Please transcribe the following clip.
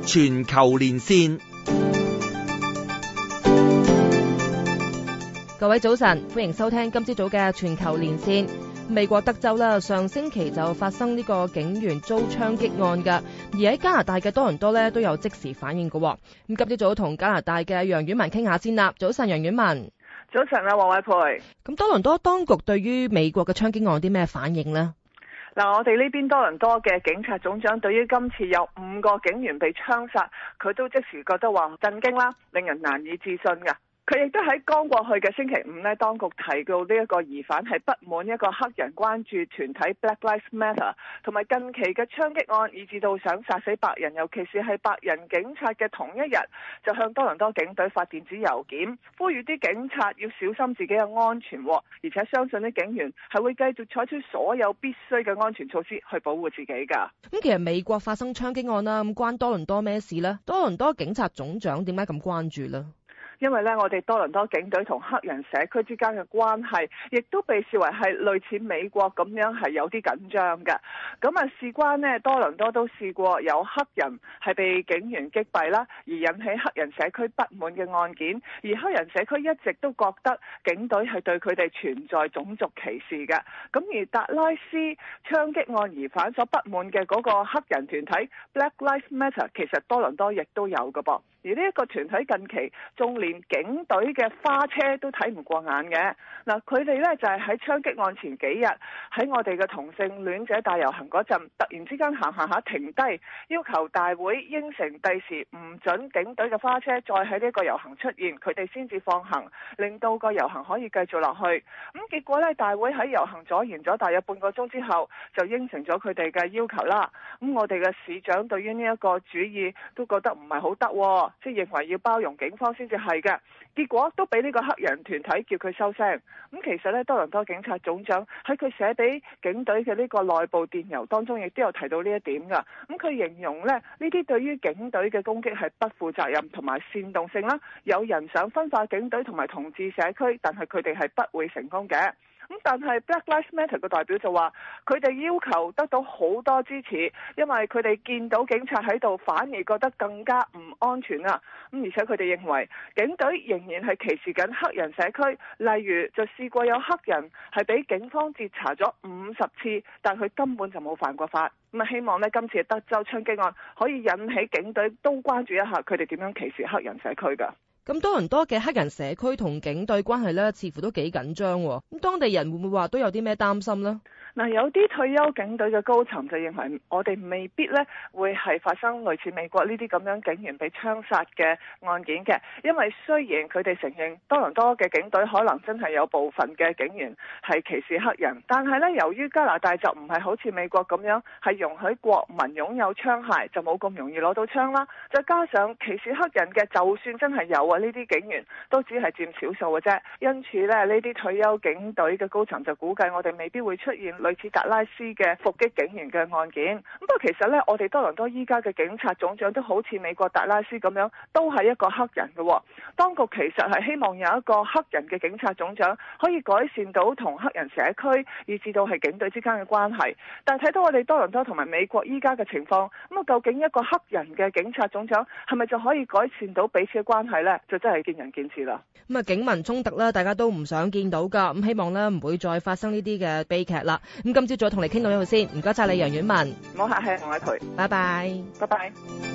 全球連線。 各位早晨，歡迎收聽今朝早嘅全球連線。美國德州啦，上星期就發生呢個警員遭槍擊案㗎，而喺加拿大嘅多倫多咧都有即時反應㗎。咁今朝早同加拿大嘅楊婉文傾下先啦。早晨，楊婉文。 早晨啊，黃偉培。 咁多倫多當局對於美國嘅槍擊案有啲咩反應呢？ 嗱，我哋呢邊多倫多嘅警察總長對於今次有5個警員被槍殺，佢都即時覺得話震驚啦，令人難以置信㗎。佢亦都喺剛過去嘅星期五呢，當局提到呢一個疑犯係不滿一個黑人關注團體 Black Lives Matter 同埋近期嘅槍擊案，以至到想殺死白人，尤其是係白人警察嘅同一日，就向多倫多警隊發電子郵件，呼籲啲警察要小心自己嘅安全，而且相信啲警員係會繼續採取所有必須嘅安全措施去保護自己㗎。 咁其實美國發生槍擊案啦，咁關多倫多咩事呢？多倫多警察總長點解咁關注呢？ 因為我哋多倫多警隊同黑人社區之間嘅關係，亦都被視為係類似美國咁樣係有啲緊張嘅。咁啊，事關多倫多都試過有黑人係被警員擊斃啦，而引起黑人社區不滿嘅案件。而黑人社區一直都覺得警隊係對佢哋存在種族歧視嘅。咁而達拉斯槍擊案疑犯所不滿嘅嗰個黑人團體 Black Lives Matter， 其實多倫多亦都有嘅噃。而呢一個團體近期仲連警隊嘅花車都睇唔過眼嘅。嗱，佢哋就係喺槍擊案前幾日喺我哋嘅同性戀者大遊行嗰陣，突然之間行下停低，要求大會應承第時唔准警隊嘅花車再喺呢個遊行出現，佢哋先至放行，令到個遊行可以繼續落去。咁結果大會喺遊行阻延咗大約半個鐘之後，就應承咗佢哋嘅要求啦。咁我哋嘅市長對於呢一個主意都覺得唔係好得，即係認為要包容警方先至係嘅，結果都俾呢個黑人團體叫佢收聲。咁其實多倫多警察總長喺佢寫俾警隊嘅呢個內部電郵當中，亦都有提到呢一點㗎。咁佢形容呢啲對於警隊嘅攻擊係不負責任同埋煽動性啦，有人想分化警隊同埋同志社區，但係佢哋係不會成功嘅。咁但係 Black Lives Matter 嘅代表就話，佢哋要求得到好多支持，因為佢哋見到警察喺度，反而覺得更加唔安全啊！咁而且佢哋認為警隊仍然係歧視緊黑人社區，例如就試過有黑人係俾警方截查咗50次，但佢根本就冇犯過法。咁啊，希望今次嘅德州槍擊案可以引起警隊都關注一下佢哋點樣歧視黑人社區㗎。 咁多倫多嘅黑人社區同警隊關係呢，似乎都幾緊張。咁當地人會唔會話都有啲咩擔心呢？ 嗱，有啲退休警隊嘅高層就認為我哋未必會係發生類似美國呢啲咁樣警員被槍殺嘅案件嘅，因為雖然佢哋承認多倫多嘅警隊可能真係有部分嘅警員係歧視黑人，但係由於加拿大就唔係好似美國咁樣係容許國民擁有槍械，就冇咁容易攞到槍啦。再加上歧視黑人嘅，就算真係有呢啲警員都只係佔少數嘅啫。因此呢啲退休警隊嘅高層就估計我哋未必會出現類似達拉斯嘅伏擊警員嘅案件。咁不過其實我哋多倫多依家嘅警察總長都好似美國達拉斯咁樣，都係一個黑人嘅。當局其實係希望有一個黑人嘅警察總長，可以改善到同黑人社區以至到係警隊之間嘅關係。但係睇到我哋多倫多同埋美國依家嘅情況，咁究竟一個黑人嘅警察總長係咪就可以改善到彼此嘅關係呢？就真係見仁見智啦。 咁啊，警民衝突啦，大家都唔想見到噶。咁希望呢唔會再發生呢啲嘅悲劇啦。咁今朝早同你傾到呢度先，唔該晒你楊婉文。 唔好客氣，黃偉培。 拜拜。 拜拜。